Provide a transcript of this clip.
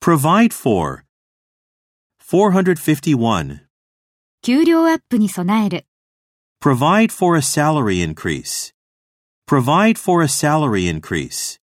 Provide for. 451. 給料アップに備える。 Provide for a salary increase. Provide for a salary increase.